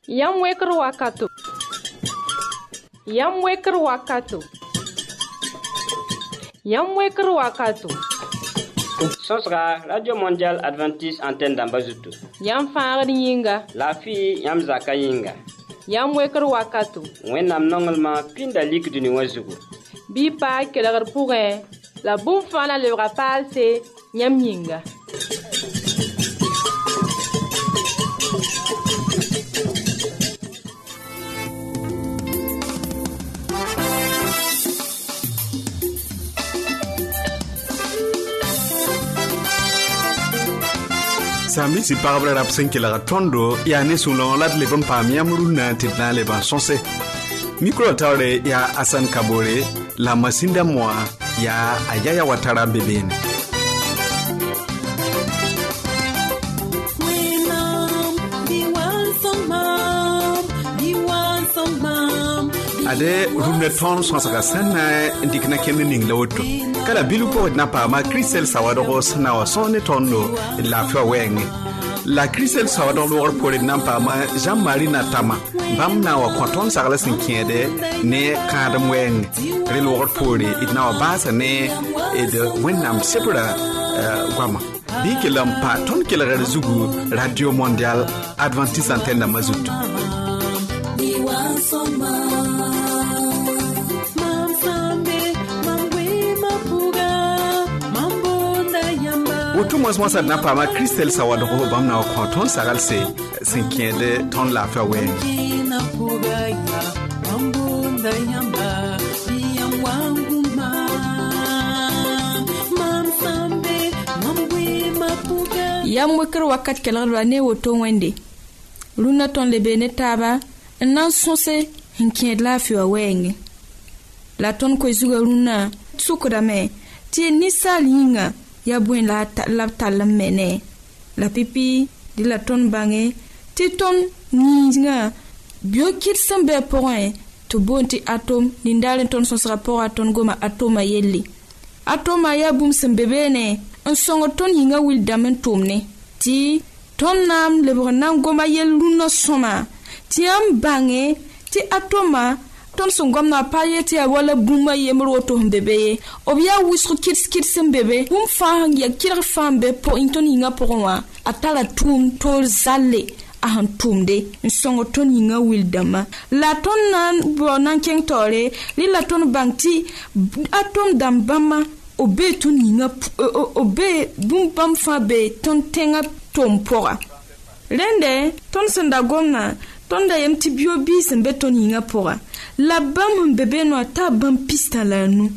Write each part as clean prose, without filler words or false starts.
Yam weker wakato. Yam weker wakato. Yam weker wakato. Sosra Radio Mondial Adventiste Antenne d'Ambazutu. Yam faagd yinga. La fi yam zaka yinga. Yam weker wakato. Wẽnnaam nonglema pĩnda likd ni wã zugu. Bɩ paa kelgr pʋgẽ la bũmb fãa na lebga paalse yãmb yĩnga. Sami si pagbre rap sen kila tondo ya ne sulon lat le bon pam yamruna titna le ban sonse micro tawre ya Asan Kabore la masinda moi ya Ayaya Watara bebene ade rumne ton sonsa sana ndikna kenne ning lawto kala bilu po na pa ma Christel Sawado sana wa sonne tondo la fa wenge la Christel Sawado lor po na pa ma Jean-Marie Natama bam na wa konton sagala sinkede ne kadam wenge re lor po itna wa basa ne e de wenam sepura gwama bikilam pa ton kila zugu Radio Mondial Adventiste Antenne d'Ambazutu Otu mos na pa ma Christel Sawado bam na ko ton sagal se sinkede ton la fa wen yam weker wakat kelgr ne woto wende runa ton le bene taba nan sonse hinked la fa wen la ton ko zuga runa sukra me ti ni salinga ya buen la talam mene la pipi di la ton bange ti ton ninga biokit sembe point to bonti atom ni ndalen ton son rapport aton goma atoma yelli atoma ya bum sembe bene en songo ton yinga wil damen tomne ti ton nam le bonam goma yelu no soma ti am bange ti atoma ton son gomna payeti wala buma yemro to bebe obia wisru kits bebe bum fa ya kira fambe po inton inga porwa atala tum to zalle ahan tumde songo ton inga wildama la ton nan bonan kentore li la ton banti atom dambama obe ton inga obe bum bam fa be ton tenga tom pora rende ton sanda gomna ton da yemti biobi sembe ton inga pora la bam bebe no ta bam pista la nu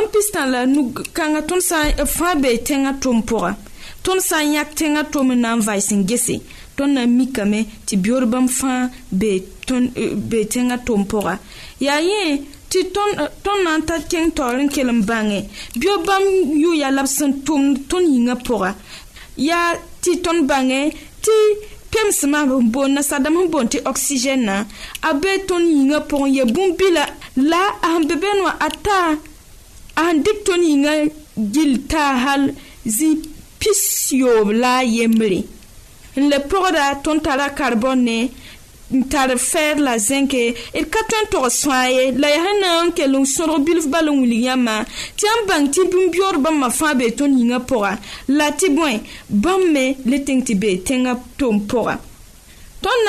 kanga ton sa fa be tenga tompora ton sa yak tenga tom na vaising gese ton na mikame ti bior bam fa be ton be tenga tompora ya ye ti ton na ta ken torin kelem bange bio bam yu ya labsan ton yinga pora ya ti ton bange ti pem sama bon na sadam bon ti oxygène na abe ton yinga pon ye bumbila la am bebe no ata an dik ton yinga gilta hal zi pisio la yemri le proda ton tara carbone tar fer la zinc et katon to soye la yana ke lu soro bilf balon williama tiam bang ti bimbior bam ma fa be ton yinga pora la ti boy bamme le tengti be tenga tom pora ton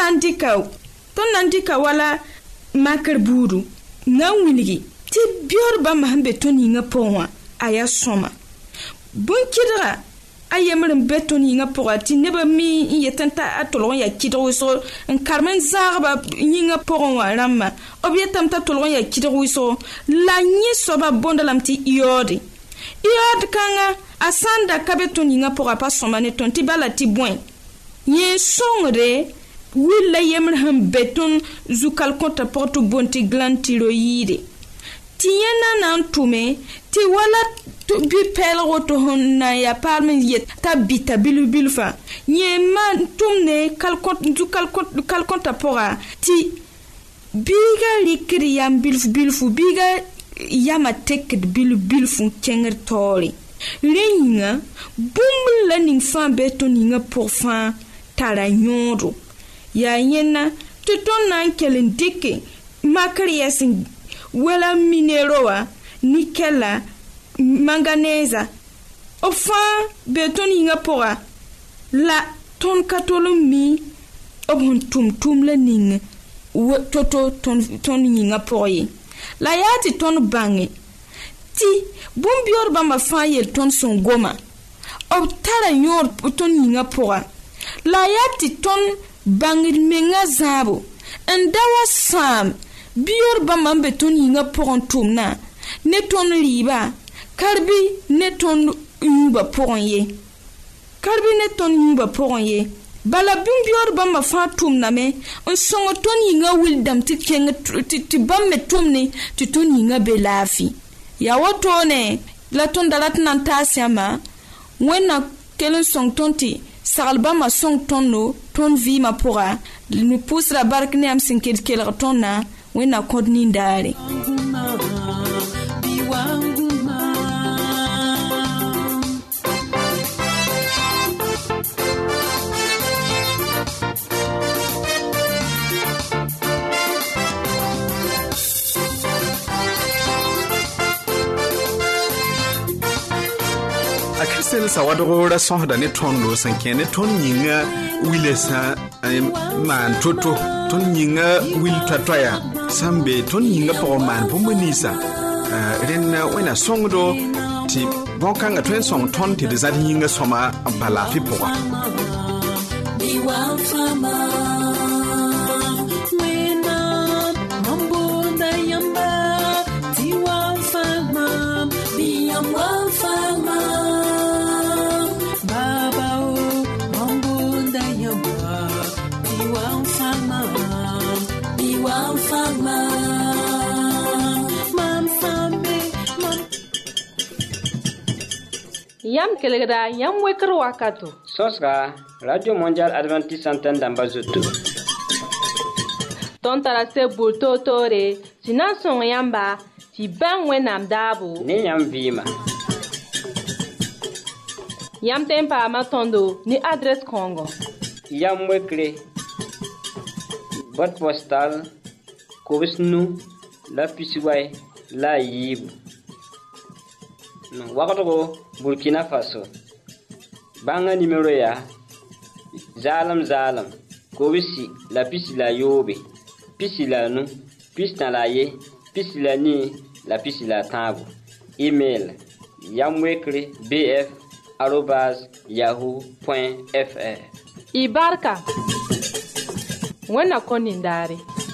nandika wala makar buru na wiligi ti bior bam ma be ton yinga pora aya soma bon kidra ayemrem beton yinga pora ti neba mi yetanta atolon ya kidro so en carmen zarba yinga poron wa ramma obietam ta tolon ya kidro so la nyi soba bondalam ti iodi kanga asanda kabeton yinga pora pa somane ton ti bala ti boin ye songre willa yemrem beton zukal konta porto bonti gland tiroide ti yena nan tume ti wala bi pel roto honna ya parmen yet tabita bilubilfa nye man tumne kalkont pora ti biga likri yam bilfu biga yama teked bilfu kenger tori Lenga, boum learning fan betoninga pour fan tara nyondo. Ya yena tɩ tõnd na n kell n dɩke makr yɛsẽ wala mineroa nikɛla manganɛɛza b fãa be tõnd yĩngã pʋga la tõnd ka tol n mi b sẽn tʋm la ning to tõnd yĩngã pʋgẽ ye la yaa tɩ tõnd bãnge tɩ bũmb-beoor bãmba fãa yel tõnd sẽn goma b tara yõor tõnd yĩngã pʋga la yaa tɩ tõnd bãngd menga zãabo n da wa sãam beoor bãmba n be tõnd yĩngã pʋgẽ tʋmna ne tõnd rɩɩba karbi ne tõnd yũuba pʋgẽ ye karbi ne tõnd yũuba pʋgẽ ye bala bũmb-beoor bãmba fãa tʋmdame n sõng tõnd yĩngã wildame tɩ kẽng tɩ bãmb me tʋmne tɩ tõnd yĩngã be laafɩ yaa wotone la tõnd da rat n na n taas yãmba wẽnna kell n sõng tõnd tɩ sagl bãmba sõng tõndo tõnd vɩɩmã pʋga ne pʋʋsra bark ne yãmb sẽn kelg tõndã wẽnna kõd nindaare Kristel sawadgo ra sõsda ne tõndo sẽn kẽ ne tõnd yĩnga wilsã maan to-to tõnd yĩnga wil toa-toaya sãn be tõnd yĩnga pʋgẽ maan bũmb ninsã rẽnd wẽna sõngdo tɩ bõn-kãngã tõe n sõng tõnd tɩ d zãd yĩnga sõma n pa laafɩ pʋga Yam kelgda yam wekr wakato. Sosra Radio Mondial Adventist Antenne d'Ambazoto. Ton tarase bulto tore, sinan son yamba, ti bang wenam dabu. Ne yam vima. Yam tempa matondo ni adres Congo. Yam wekre. Boîte postale. Kobisnu. La pisiway. La yib. Wakato Burkina Faso. Banga numéro ya Zalam Kobisi la pisi la yobe. Pisi la nu. Pisi na la ye. Pisi la ni. La pisi la tabu. Email yamwekre bf@yahoo.fr. Ibarka. Wena konindare.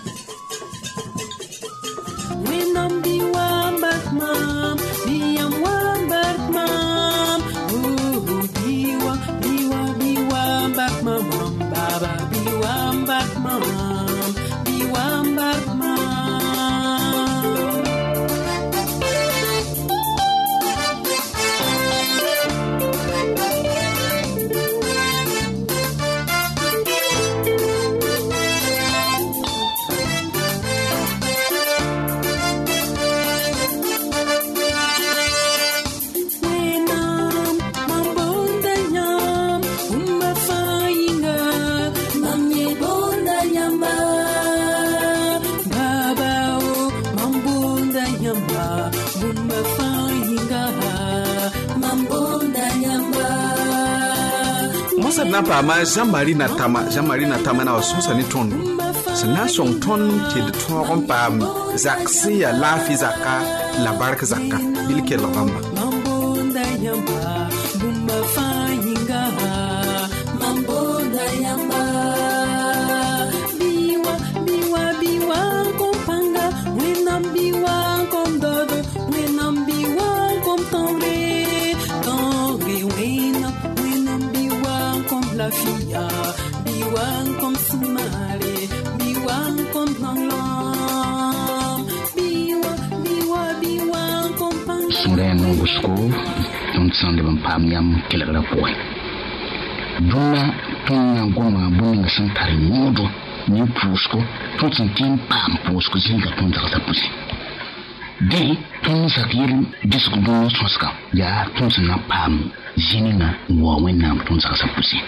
Mosad na paama Jean-Marie Natama na wa sõsa ne tõndo sẽn na n sõng tõnd tɩ d tõog n paam zak sẽn yaa laafɩ zaka la bark zaka bil kelg bãmba Don't sound of Pam Yam Killer Boy. Duna, Tona Goma, Boning Santari Modo, New Pusco, Totten King Pam Pusco Zinga Ponta Pussy. They, Tons Akir, Disco Soska, Ya, Tonsana Pam, Zinina, Wowen Nam Tonsa Pussy.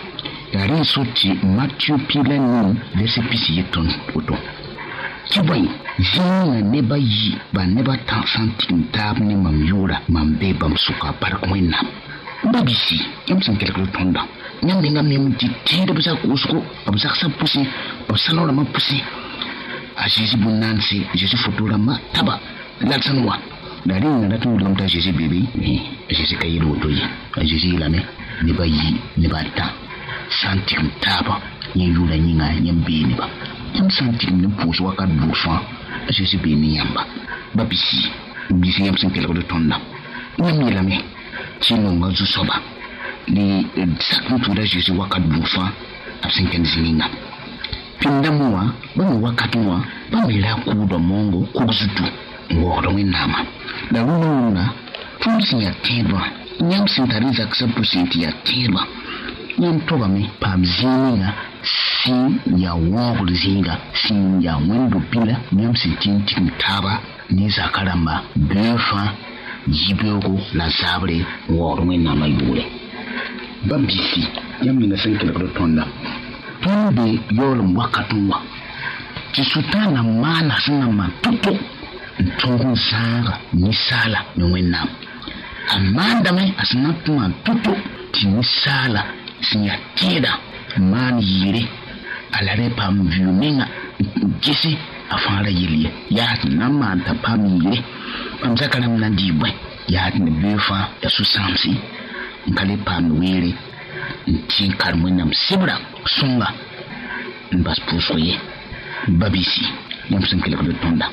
la rin soti Matthieu pilan verset pisi ton oto kibai zina ne ba yi ba ne ba ta santin tab ne mam yura mam be bam suka par koina babisi yam san kelko tonda nyam de ngam nem ti tire bisa kusko abisa sa pusi abisa ma pusi a Jésus bonansi Jésus fotora ma taba laksanwa dari na tu dum ta Jésus bébé Jésus kayiro to yi a Jésus la ne ba yi ne ba ta santin taba ni yura ni nga nyam be ne ba yam santin ne puso wakat bufa a Jésus be ni yamba babisi bisi yam san kelko tonda nyam la me chino nga zu soba ni sakun tu da Jésus wakat bufa absen kan zininga pinda muwa ba mu wakati wa ba mi la ku do mongo ku zutu ngoro ni nama da wuna tunsi ya teba nyam sintariza ksa pusenti ya teba nyam toba mi pam zininga sin ya wogul zinga sin ya wendo pila nyam sintinti taba ni zakaramba befa yibego la sabre ngoro ni nama yule babisi yam ni ngasen kele ko tonda tonde yolum wakatwa ti sutana mana sana matuto ntongo sanga ni sala ni wenam amanda me asna tuma tuto ti ni sala sinya tida man yire alare pam viuninga gisi afara yili ya namanta pam yire pam zakana mnandi bwe ya ne befa ya susamsi ngale pam wiri tin karmunam sibra sunga mbas pusoye babisi nyam sankele ko tonda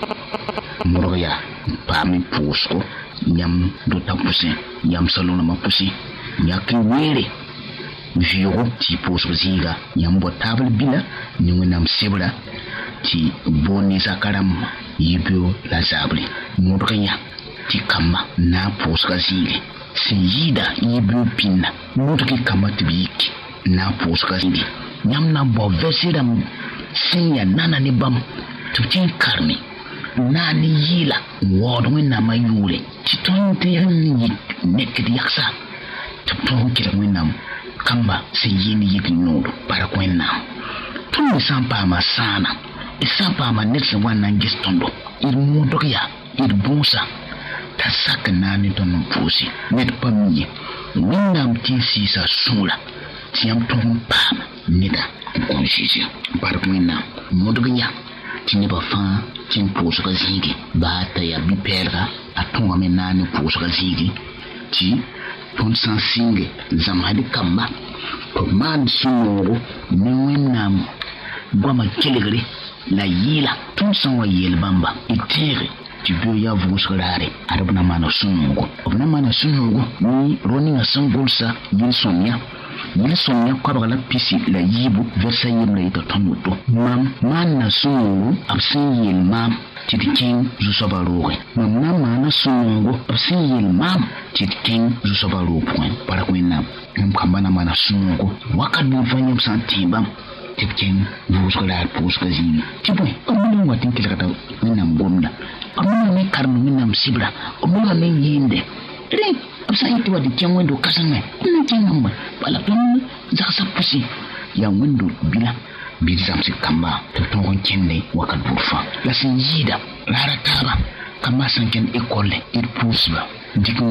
moroya pami pusko nyam do tapusi nyam salona mapusi nyaki were viyo ti pusko zinga nyam bo table bila nyunam sibra ti boni sakaram yibyo la sabri moroya ti kama na pusko zinga siyida yibyo pinna moroki kama tibiki na pusko zinga nyam na bo vesiram sinya nana ni bam tutin karni nani yila wodo na mayule titonte ni nekedi yaksa tuton kira winam kamba siyini yiki nodo para kwenna tun sampa masana isampa manetse wana ngistondo irmudo ya irbusa tasaka nani ton pusi net pamye winam tisisa sula tiam ton pam nida conscience par kwenna modognya tini ba fa tin puso ka zigi ba ta ya bi perga atonga menani puso ka zigi ti ton sansinge zamadi kamba to man sunoro ni wenam goma kelegre la yila ton sanwa yel bamba itere ti bio ya vuskarare arabna mana sunungo obna mana sunungo ni roni na sangolsa yin sonya kwa bagala pisi la yibu versa yim la ita tonuto mam man na sunungo absin yel mam titikin jusobaroge mam na mana sunungo absin yel mam titikin jusobaroge para kwena ngam kambana mana sunungo wakat bu fanyam santibam titikin vuskarare puska zini tiboy amuna watin kilakata minam gomna amuna ne karnu minam sibra amuna ne yinde re absa iti wadi tiang wendo kasanga ne tiangamba bala ton zaksa pusi ya wendo bila bidi samsi kamba to ton kende wakat burfa la sinjida lara taba kamba sanken ekole ir pusba dikin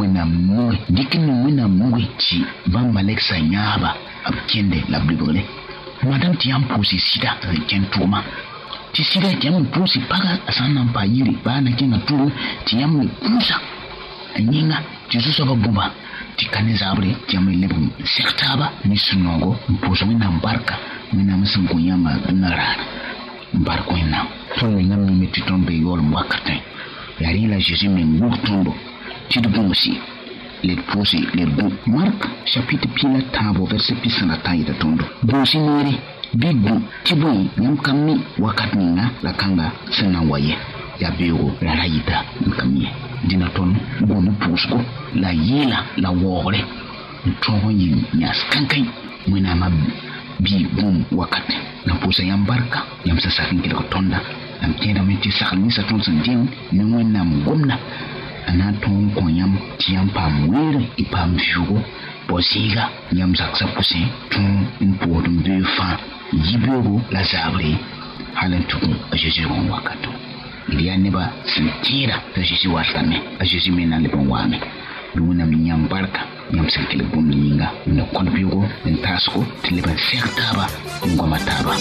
wena mwe ci ban maleksa nyaba ab kende la blibole madam tiam pusi sida ken tuma ti sida tiam pusi paga asana pa yiri ba na kinga turu tiam pusa anyinga Jesus ba bumba ti kanizabre tiam lebu sektaba ni sunongo puso mina mbarka mina msango nyama nara mbarko ina ton nga mi titombe yol mwakate yari la Jésus mengu tondo ti dubumusi les pousser les bons. Marc chapitre pila tabo verset pisana tayi da tondo bosi nere bigu tiboy nyam kammi wakati nga la kanga sena waye ya bego la rayita kammi dina ton bonu pusko la yela la wore tongo yin nyas kankai mwina ma bi bum wakati na pusa yam barka yam sa sakin kila tonda am tenda menti sakal ni sa ton santin ni mwina mgomna ana ton ko yam tiam pam wer ipam jugo posiga yam saksa puse ton impodum de fa yibego la zabri halan tukun a Jésus on wakato il y a neba sentira de Jésus wasame a Jésus mena le bon wame duna minyam barka nyam sankile bom ninga no konbigo en tasko tiliban sertaba ngoma taba.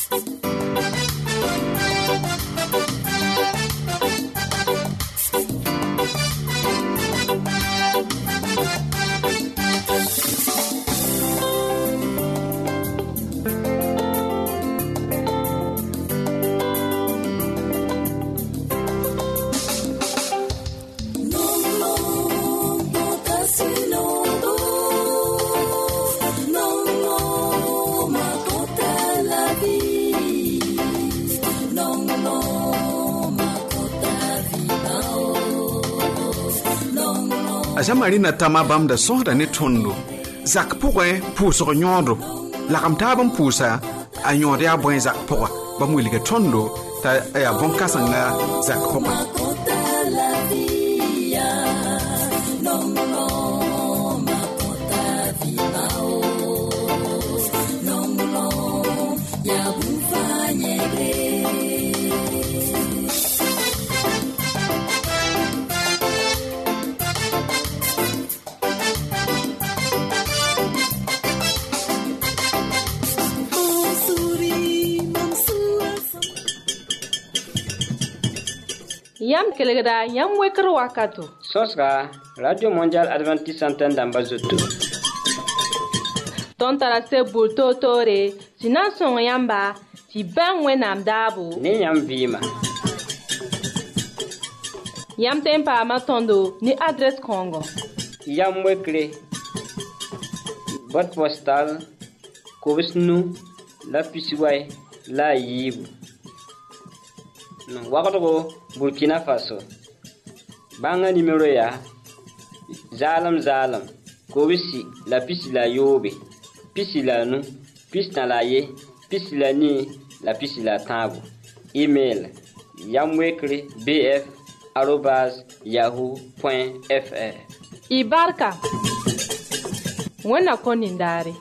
Marina tama bam da sohda ne tondo zak pugwe puso nyodo la kam tabam pusa a nyode a boy zak pugwa ba muliga tondo ta ya bon kasanga zak pugwa Yam kelegda yam wekr wakato. Sosga Radio Mondial Adventiste Antenne d'Ambazoto. Ton tarase bulto tore, sinan son yamba, ti ben wenam dabu. Ni yam vima. Yam tempa matondo ni adresse Congo. Yam wekre. Boîte postale Kovisnu la Pisiway la Yibu. Wakato Burkina Faso. Banga numéro ya Zalam Kobisi la pisi la yobe. Pisi la nu, pisi na la ye, pisi la ni, la pisi la tabu. Email yamwekre bf@yahoo.fr. Ibarka Wena konindari.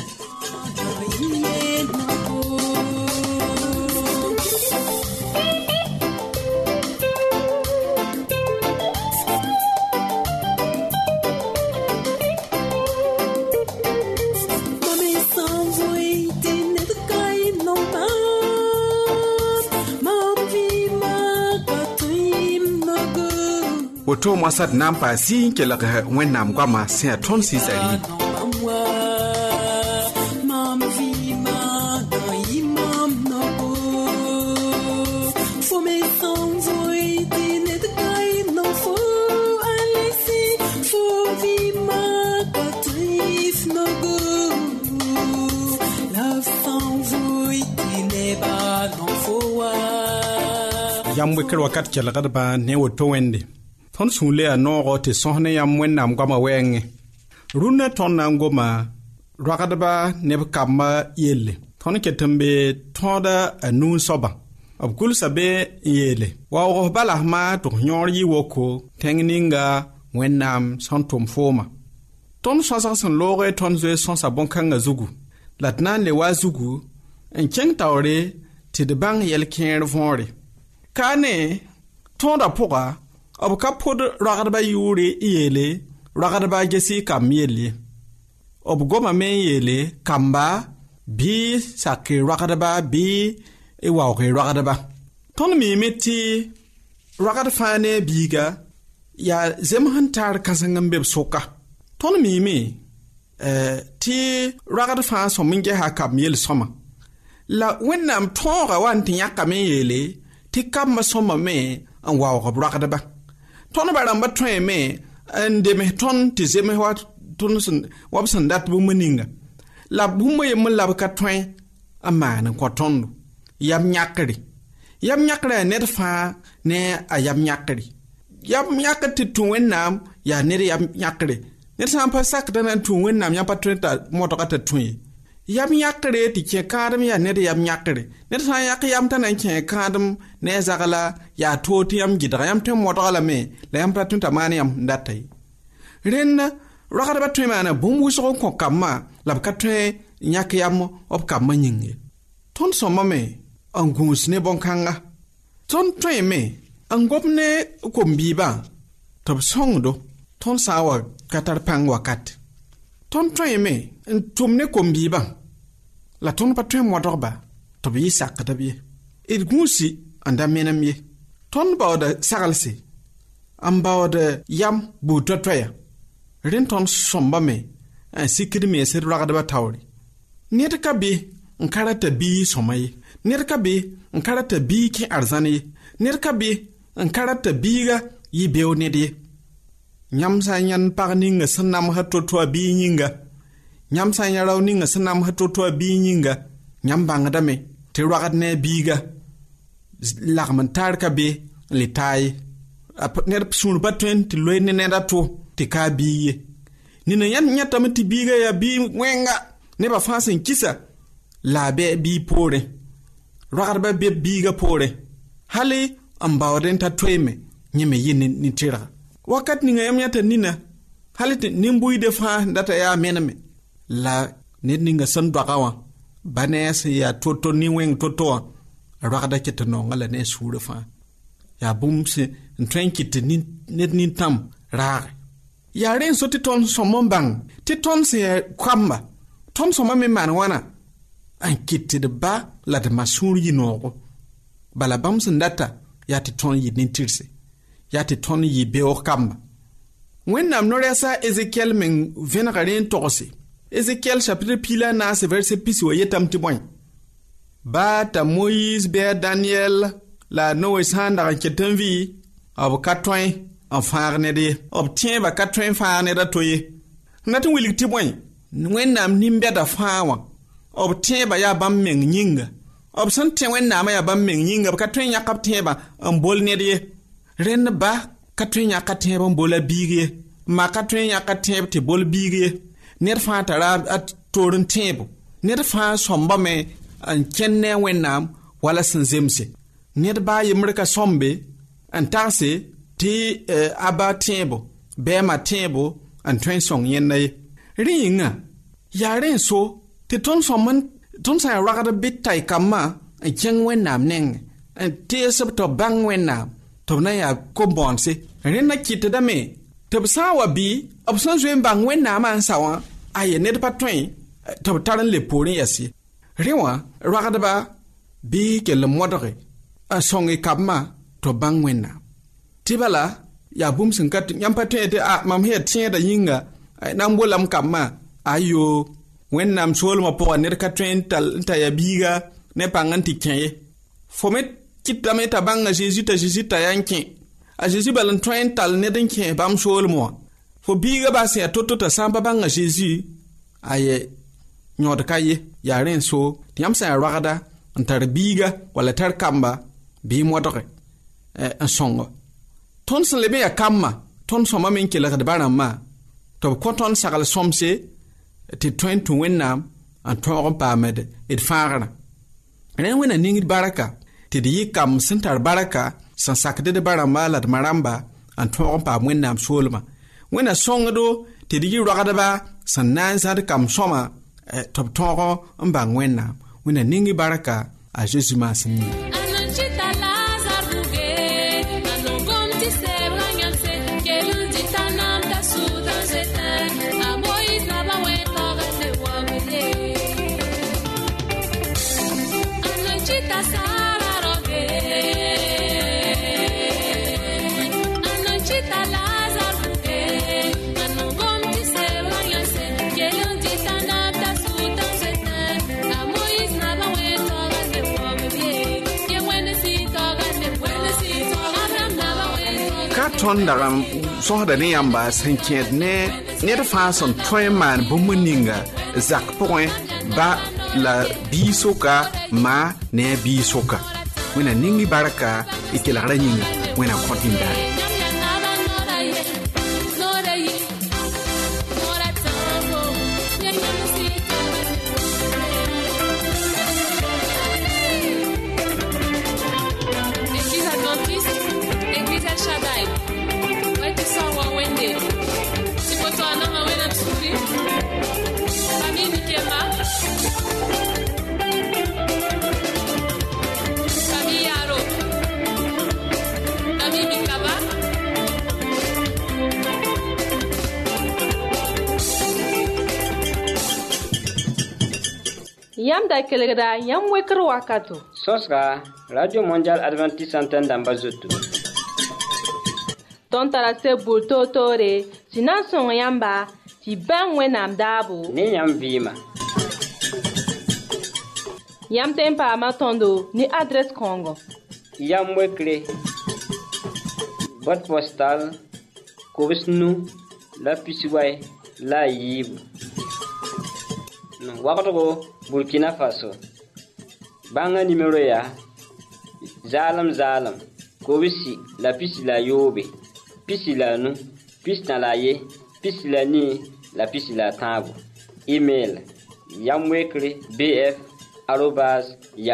Woto mwasad nampa si kelak wenam kwama se ton si sari. Yam wekr wakat kelak ba ne woto wende. Ton sule a nogo te sohne yam wennam gama wenge. Runa ton nangoma rakadaba nebkama yele. Ton ketembe tonda a nun soba. Abkul sabe yele. Wa o balahma to nyor yi woko tengninga wennam santum foma. Ton sosa son lore ton zwe sonsa bonkanga zugu. Latnan le wa zugu en keng tawre te de bang yel kien vonre. Kane tonda poka Abu kapod ragadaba yuri yele, ragadaba gesi kam yele. Abu goma men yele, kamba, bi sake ragadaba, bi ewauke ragadaba. Ton mi meti ragadafane biga, ya zemhantar kansangambeb soka. Ton mi ti ragadafan sominge ha kam yele soma. La wennam tonga wanti yakame yele, ti kamba soma me an wauke ragadaba. Ton baramba twen me ande me ton ti zeme wat ton wabsan dat bu meninga la bu moye mun la ka twen amana ko tondo yam nyakri net fa ne ayam nyakri yam nyakati tu wennam ya ne yam nyakri net sam pa sak dan tu wennam ya pa twen ta moto ka ta twen yam yakre ti ke kadam ya ne yam yakre ne sa yak yam tan ke kadam ne zagala ya toti yam gidra yam tem modala me la yam patun tamani yam ndatai renna ragada batwe mana bumbu so ko kamma la katwe nyak yam op kamma nyinge ton somma me angus ne bonkanga ton twe me angop ne kombi ba tob songdo ton sawa katar pang wakat ton twe me tum ne kombi ba la ton patwe modorba tob yi sakata bi il gusi anda menam ye ton bawda sagalsi am bawda yam bu totwaya ren ton somba me sikidi me ser ragada ba tawri net ka bi nkarata bi somay net ka bi nkarata bi ki arzani net ka bi nkarata biga yi bew nedye nyam sa nyan parni nga sanam ha totwa bi nyinga nyam sa nyaraw ni nga sanam ha totwa bi nyinga nyam bangada me te ragad ne biga lagman tar ka be le tay ner sun patwen ti loyne ne dato ti ka biye ni na yan nyata mti biga ya bi wenga ne ba fasin kisa la be bi pore ragar ba be biga pore hali ambawden ta tweme nyeme yin ni tira wakat ni ngam nyata nina hali nimbui de fa data ya mename la ne ninga san dagawa banes ya toto ni weng toto ragada ketno ngala ne sura fa ya bumse ntrenkit ni net ni tam rar ya ren so ti ton somon bang ti ton se kwamba ton soma me man wana an kitti de ba la de masuri yi nogo bala bamse ndata ya ti ton yi nintirse ya ti ton yi be o kamba wennam no resa Ezekiel men venagaren togose Ezekiel chapitre pila na se verset pisi wa yetam ti boy ba ta Moïse be Daniel la Noé sanda ketenvi ab katwen en farne de obtient ba katwen farne da toye natin wilik ti boy wennam nimbe da fawa obtient ba ya bam men nyinga obsan te wennam ya bam men nyinga ba katwen ya kapte ba en bol ne de ren ba katwen ya katte ba bola bige ma katwen ya katte te bol bige ner fa tara at torun tebo ner fa somba me an kenne wennam wala sanzemse ner ba yimrika sombe an tarse ti aba tebo be ma tebo an twen song yenna ringa ya ren so ti ton somman ton sa ragada bitai kama an ken wennam neng an ti sab to bang wennam to na ya ko bonse ren na kitte da me to sawa bi opsan zwen bang wennam an sawa aye net patwen to taran le pore yasi rewa ragada ba bi ke le modore a songi kabma to bangwena tibala ya bum sinkat nyam patwen te a mam he tien da yinga nam bolam kabma ayo wennam sol ma po net katwen tal ta ya biga ne panganti kenye fomet kitame ta banga Jesus ta yankin a Jesus balan twen tal ne den ken bam sol mo fo biga ba se toto ta samba banga Jesus aye nyod kaye ya ren so tiam sa ragada antar biga wala tar kamba bi modore en songo ton se lebe ya kamma ton soma men kela da barama to ko ton sagal somse ti 20 wennam an to pa med it farana ren wena ningi baraka ti di kam sentar baraka san sakde de barama la maramba an to pa wennam solma wena songo ti di ragada ba san nan sa de kam soma top toro mbang wena ningi baraka a Jesus masini ton daga so da ne yamba sanket ne da fason toyman bumuninga zak point ba la bisoka ma ne bisoka wena ningi baraka ikela ranyinga wena kontinda Yam da kelgda yam wekr wakato. Sosra Radio Mondial Adventiste Antenne d'Ambazoto. Ton tarase bulto tore, sinan son yamba, ti ben wenam dabo. Ni yam vima. Yam tempa matondo ni adresse Congo. Yam wekre. Boîte postale. Kobisnu la pisiway la yibu. Wakato Burkina Faso. Banga numéro ya. Zalam. Kobisi la pisi la yobe. Pisi la nu. Pisi na la ye. Pisi la ni. La pisi la tabu. Email. Yamwekre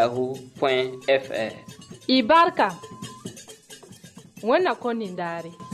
bf@yahoo.fr. Ibarka. Wana konindari.